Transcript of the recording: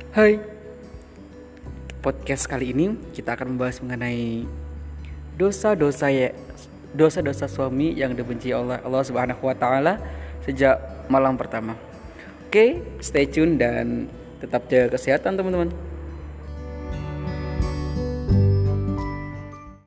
Hai, podcast kali ini kita akan membahas mengenai dosa-dosa ya, dosa-dosa suami yang dibenci oleh Allah Subhanahu wa taala sejak malam pertama. Oke, stay tune dan tetap jaga kesehatan teman-teman.